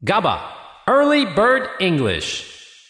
GABA Early Bird English.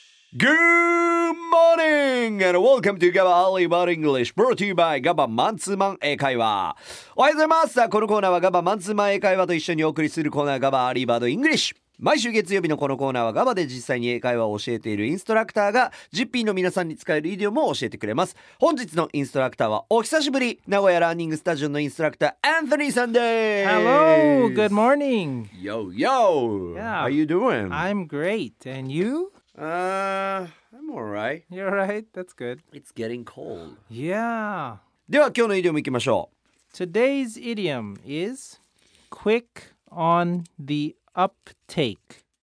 Good morning and welcome to GABA Early Bird English brought to you by GABA マンツーマン英会話。おはようございます。このコーナーは GABA マンツーマン英会話と一緒にお送りするコーナー GABA Early Bird English。毎週月曜日のこのコーナーは GABA で実際に英会話を教えているインストラクターが GP の皆さんに使えるイディオムを教えてくれます。本日のインストラクターはお久しぶり、名古屋ラーニングスタジオのインストラクターアンソニーさんです。 Hello, good morning. Yo, yo. Yeah. How you doing? I'm great. And you? I'm alright. You're right. That's good. It's getting cold. Yeah. では今日のイディオムいきましょう。 Today's idiom is quick on the uptake.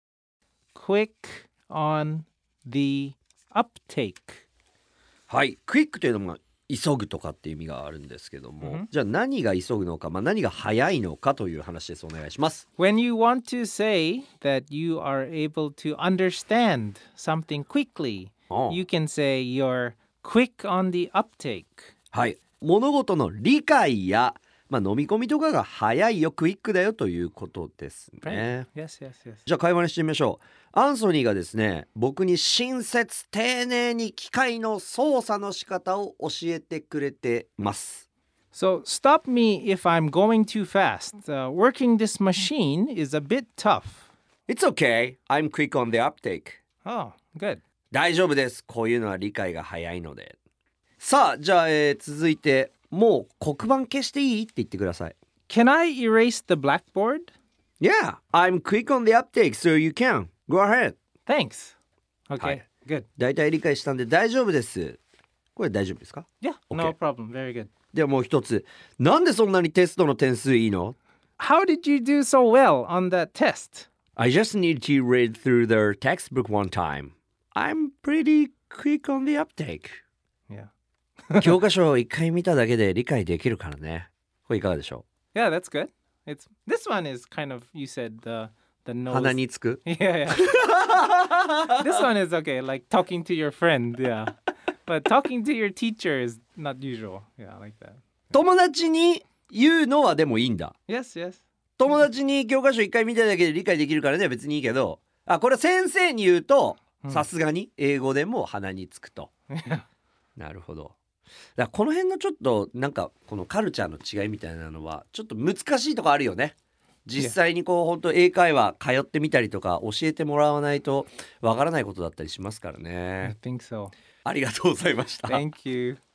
Quick on the uptake. はい、クイックというのも急ぐとかっていう意味があるんですけども、じゃあ何が急ぐのか、何が早いのかという話です。お願いします。 When you want to say that you are able to understand something quickly, you can say you're quick on the uptake. はい、物事の理解や、飲み込みとかが早いよ、クイックだよということですね。 Yes, yes, yes. じゃあ会話にしてみましょう。アンソニーがですね、僕に親切丁寧に機械の操作の仕方を教えてくれてます。 So stop me if I'm going too fast. Working this machine is a bit tough. It's okay. I'm quick on the uptake. Oh, good. 大丈夫です。こういうのは理解が早いので。さあ、じゃあ、続いて、もう黒板消していいって言ってください。 Can I erase the blackboard? Yeah, I'm quick on the uptake, so you can. Go ahead. Thanks. Okay, はい。 good. 大体理解したんで大丈夫です。これ大丈夫ですか？ Yeah, no problem. Very good. ではもう一つ。なんでそんなにテストの点数いいの？ How did you do so well on that test? I just need to read through the textbook one time. I'm pretty quick on the uptake. Yeah. 教科書を一回見ただけで理解できるからね。これいかがでしょ Yeah, that's good. This one is kind of, you said the う？ nose. 鼻につく？ Yeah, yeah. This one is okay, like talking to your friend, yeah. But talking to your teacher is not usual. Yeah, like that. 友達に言うのはでもいいんだ。 Yes, yes. 友達に教科書一回見ただけで理解できるからね、別にいいけど、これ先生に言うとさすがに英語でも鼻につくと。なるほど。だからこの辺のちょっとなんかこのカルチャーの違いみたいなのはちょっと難しいとこあるよね。実際にこう本当英会話通ってみたりとか教えてもらわないとわからないことだったりしますからね。 I think so. ありがとうございました。 Thank you.